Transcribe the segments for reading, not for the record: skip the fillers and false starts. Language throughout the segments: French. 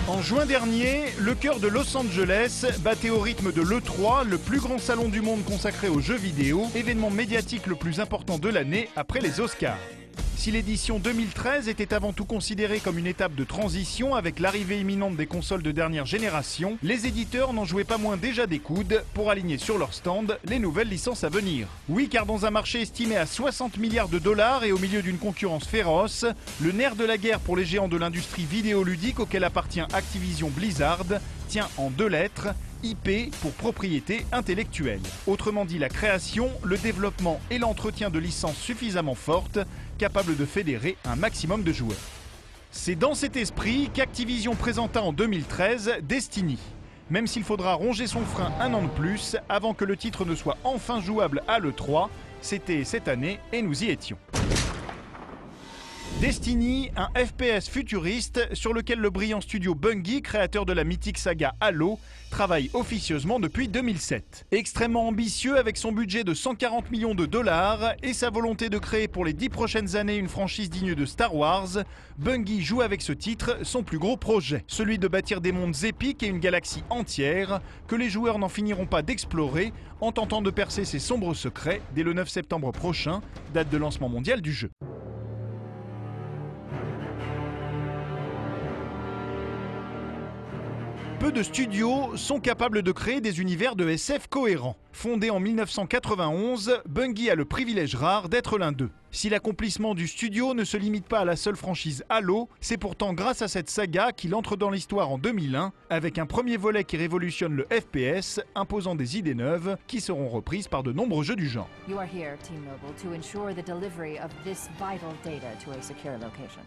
En juin dernier, le cœur de Los Angeles battait au rythme de l'E3, le plus grand salon du monde consacré aux jeux vidéo, événement médiatique le plus important de l'année après les Oscars. Si l'édition 2013 était avant tout considérée comme une étape de transition avec l'arrivée imminente des consoles de dernière génération, les éditeurs n'en jouaient pas moins déjà des coudes pour aligner sur leur stand les nouvelles licences à venir. Oui, car dans un marché estimé à 60 milliards de dollars et au milieu d'une concurrence féroce, le nerf de la guerre pour les géants de l'industrie vidéoludique auquel appartient Activision Blizzard tient en 2 lettres, IP pour propriété intellectuelle. Autrement dit, la création, le développement et l'entretien de licences suffisamment fortes, capables de fédérer un maximum de joueurs. C'est dans cet esprit qu'Activision présenta en 2013 Destiny. Même s'il faudra ronger son frein un an de plus avant que le titre ne soit enfin jouable à l'E3, c'était cette année et nous y étions. Destiny, un FPS futuriste sur lequel le brillant studio Bungie, créateur de la mythique saga Halo, travaille officieusement depuis 2007. Extrêmement ambitieux avec son budget de 140 millions de dollars et sa volonté de créer pour les 10 prochaines années une franchise digne de Star Wars, Bungie joue avec ce titre son plus gros projet, celui de bâtir des mondes épiques et une galaxie entière que les joueurs n'en finiront pas d'explorer en tentant de percer ses sombres secrets dès le 9 septembre prochain, date de lancement mondial du jeu. Peu de studios sont capables de créer des univers de SF cohérents. Fondé en 1991, Bungie a le privilège rare d'être l'un d'eux. Si l'accomplissement du studio ne se limite pas à la seule franchise Halo, c'est pourtant grâce à cette saga qu'il entre dans l'histoire en 2001, avec un premier volet qui révolutionne le FPS, imposant des idées neuves qui seront reprises par de nombreux jeux du genre. You are here, T-Mobile, to ensure the delivery of this vital data to a secure location.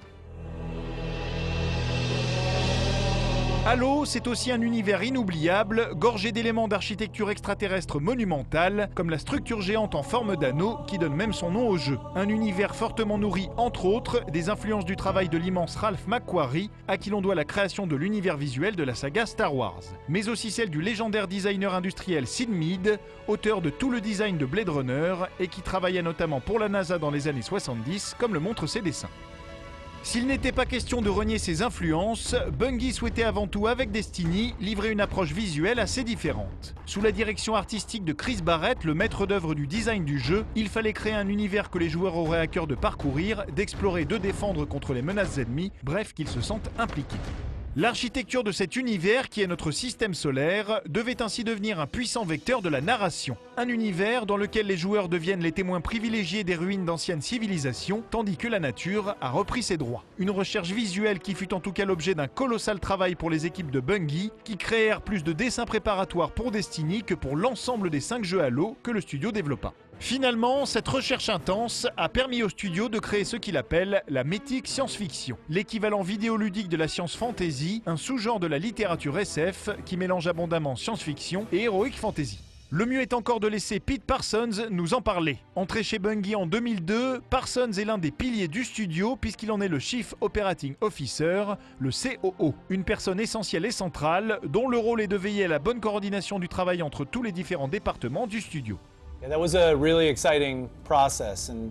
Halo, c'est aussi un univers inoubliable, gorgé d'éléments d'architecture extraterrestre monumentale, comme la structure géante en forme d'anneau qui donne même son nom au jeu. Un univers fortement nourri, entre autres, des influences du travail de l'immense Ralph McQuarrie, à qui l'on doit la création de l'univers visuel de la saga Star Wars. Mais aussi celle du légendaire designer industriel Sid Mead, auteur de tout le design de Blade Runner, et qui travaillait notamment pour la NASA dans les années 70, comme le montrent ses dessins. S'il n'était pas question de renier ses influences, Bungie souhaitait avant tout avec Destiny livrer une approche visuelle assez différente. Sous la direction artistique de Chris Barrett, le maître d'œuvre du design du jeu, il fallait créer un univers que les joueurs auraient à cœur de parcourir, d'explorer, de défendre contre les menaces ennemies, bref qu'ils se sentent impliqués. L'architecture de cet univers, qui est notre système solaire, devait ainsi devenir un puissant vecteur de la narration. Un univers dans lequel les joueurs deviennent les témoins privilégiés des ruines d'anciennes civilisations, tandis que la nature a repris ses droits. Une recherche visuelle qui fut en tout cas l'objet d'un colossal travail pour les équipes de Bungie, qui créèrent plus de dessins préparatoires pour Destiny que pour l'ensemble des 5 jeux Halo que le studio développa. Finalement, cette recherche intense a permis au studio de créer ce qu'il appelle la mythique science-fiction, l'équivalent vidéoludique de la science fantasy, un sous-genre de la littérature SF qui mélange abondamment science-fiction et heroic fantasy. Le mieux est encore de laisser Pete Parsons nous en parler. Entré chez Bungie en 2002, Parsons est l'un des piliers du studio puisqu'il en est le Chief Operating Officer, le COO, une personne essentielle et centrale dont le rôle est de veiller à la bonne coordination du travail entre tous les différents départements du studio. Yeah, that was a really exciting process, and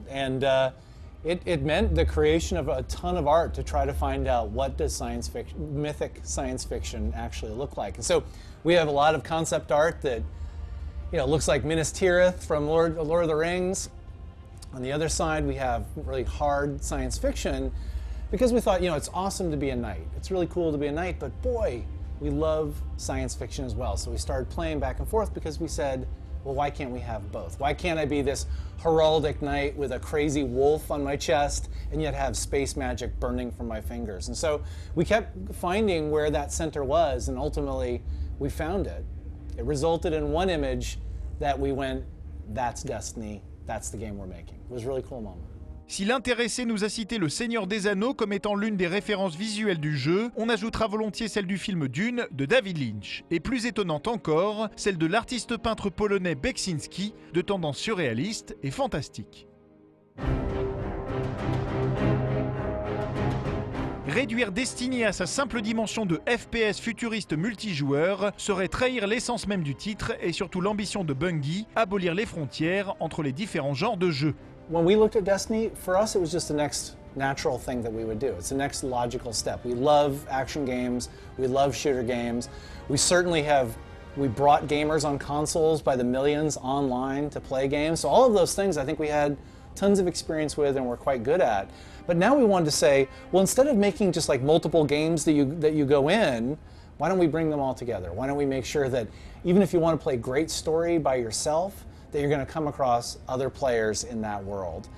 it meant the creation of a ton of art to try to find out what does science fiction, mythic science fiction actually look like. And so we have a lot of concept art that, you know, looks like Minas Tirith from Lord of the Rings. On the other side, we have really hard science fiction because we thought, you know, it's awesome to be a knight. It's really cool to be a knight, but boy, we love science fiction as well. So we started playing back and forth because we said, well, why can't we have both? Why can't I be this heraldic knight with a crazy wolf on my chest and yet have space magic burning from my fingers? And so we kept finding where that center was, and ultimately we found it. It resulted in one image that we went, that's Destiny, that's the game we're making. It was a really cool moment. Si l'intéressé nous a cité Le Seigneur des Anneaux comme étant l'une des références visuelles du jeu, on ajoutera volontiers celle du film Dune de David Lynch. Et plus étonnante encore, celle de l'artiste peintre polonais Beksinski, de tendance surréaliste et fantastique. Réduire Destiny à sa simple dimension de FPS futuriste multijoueur serait trahir l'essence même du titre et surtout l'ambition de Bungie, abolir les frontières entre les différents genres de jeux. When we looked at Destiny, for us it was just the next natural thing that we would do. It's the next logical step. We love action games, we love shooter games. We brought gamers on consoles by the millions online to play games. So all of those things I think we had tons of experience with and we're quite good at. But now we wanted to say, well, instead of making just like multiple games that you go in, why don't we bring them all together? Why don't we make sure that even if you want to play great story by yourself, that you're going to come across other players in that world.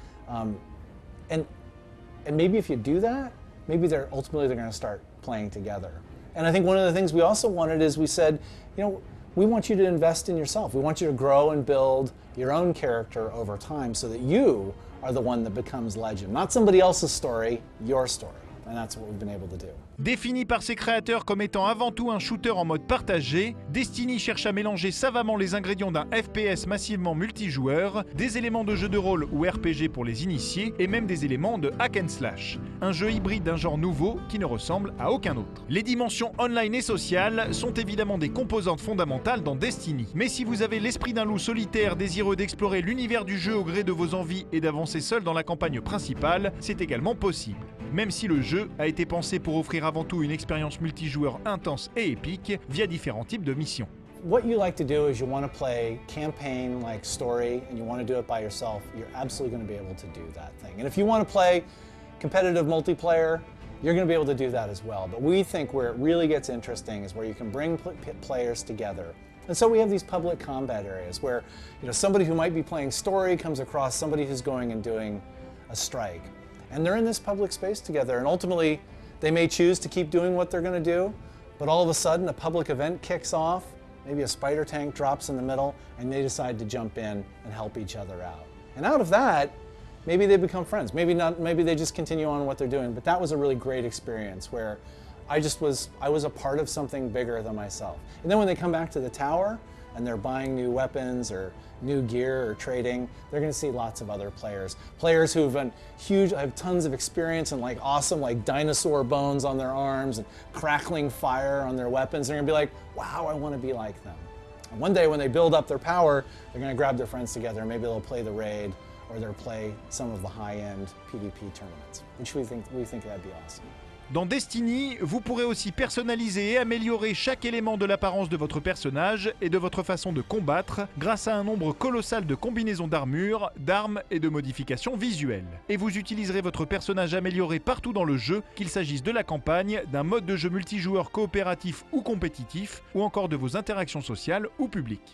And maybe if you do that, maybe ultimately they're going to start playing together. And I think one of the things we also wanted is we said, you know, we want you to invest in yourself. We want you to grow and build your own character over time so that you are the one that becomes legend. Not somebody else's story, your story. And that's what we've been able to do. Défini par ses créateurs comme étant avant tout un shooter en mode partagé, Destiny cherche à mélanger savamment les ingrédients d'un FPS massivement multijoueur, des éléments de jeu de rôle ou RPG pour les initiés, et même des éléments de hack and slash. Un jeu hybride d'un genre nouveau qui ne ressemble à aucun autre. Les dimensions online et sociales sont évidemment des composantes fondamentales dans Destiny. Mais si vous avez l'esprit d'un loup solitaire désireux d'explorer l'univers du jeu au gré de vos envies et d'avancer seul dans la campagne principale, c'est également possible. Même si le jeu a été pensé pour offrir avant tout une expérience multijoueur intense et épique via différents types de missions. What you like to do is you want to play campaign like story and you want to do it by yourself, you're absolutely going to be able to do that thing. And if you want to play competitive multiplayer, you're going to be able to do that as well. But we think where it really gets interesting is where you can bring players together. And so we have these public combat areas where, you know, somebody who might be playing story comes across somebody who's going and doing a strike. And they're in this public space together, and ultimately they may choose to keep doing what they're going to do, but all of a sudden a public event kicks off, maybe a spider tank drops in the middle, and they decide to jump in and help each other out. And out of that, maybe they become friends. Maybe not, maybe they just continue on what they're doing, but that was a really great experience where I was a part of something bigger than myself. And then when they come back to the tower and they're buying new weapons or new gear or trading, they're going to see lots of other players who've been huge, have tons of experience and like awesome like dinosaur bones on their arms and crackling fire on their weapons. They're going to be like, wow, I want to be like them. And one day when they build up their power, they're going to grab their friends together and maybe they'll play the raid or they'll play some of the high-end PvP tournaments, which we think that'd be awesome. Dans Destiny, vous pourrez aussi personnaliser et améliorer chaque élément de l'apparence de votre personnage et de votre façon de combattre grâce à un nombre colossal de combinaisons d'armure, d'armes et de modifications visuelles. Et vous utiliserez votre personnage amélioré partout dans le jeu, qu'il s'agisse de la campagne, d'un mode de jeu multijoueur coopératif ou compétitif, ou encore de vos interactions sociales ou publiques.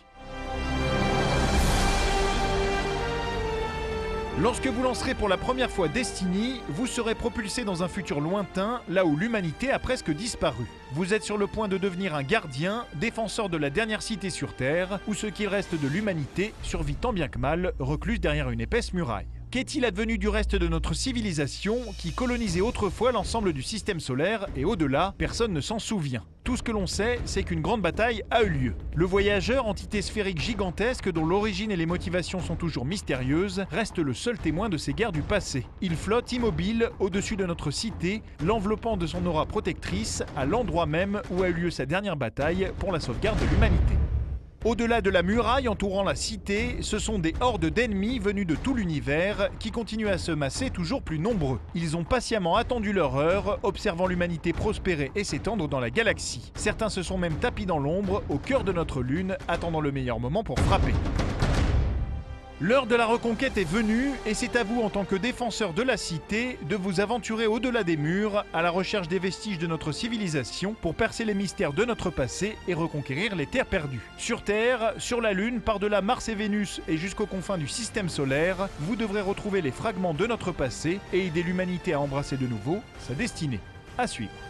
Lorsque vous lancerez pour la première fois Destiny, vous serez propulsé dans un futur lointain, là où l'humanité a presque disparu. Vous êtes sur le point de devenir un gardien, défenseur de la dernière cité sur Terre, où ce qu'il reste de l'humanité survit tant bien que mal, recluse derrière une épaisse muraille. Qu'est-il advenu du reste de notre civilisation qui colonisait autrefois l'ensemble du système solaire et au-delà, personne ne s'en souvient. Tout ce que l'on sait, c'est qu'une grande bataille a eu lieu. Le voyageur, entité sphérique gigantesque dont l'origine et les motivations sont toujours mystérieuses, reste le seul témoin de ces guerres du passé. Il flotte immobile au-dessus de notre cité, l'enveloppant de son aura protectrice à l'endroit même où a eu lieu sa dernière bataille pour la sauvegarde de l'humanité. Au-delà de la muraille entourant la cité, ce sont des hordes d'ennemis venus de tout l'univers qui continuent à se masser toujours plus nombreux. Ils ont patiemment attendu leur heure, observant l'humanité prospérer et s'étendre dans la galaxie. Certains se sont même tapis dans l'ombre, au cœur de notre lune, attendant le meilleur moment pour frapper. L'heure de la reconquête est venue et c'est à vous en tant que défenseur de la cité de vous aventurer au-delà des murs à la recherche des vestiges de notre civilisation pour percer les mystères de notre passé et reconquérir les terres perdues. Sur Terre, sur la Lune, par-delà Mars et Vénus et jusqu'aux confins du système solaire, vous devrez retrouver les fragments de notre passé et aider l'humanité à embrasser de nouveau sa destinée. À suivre.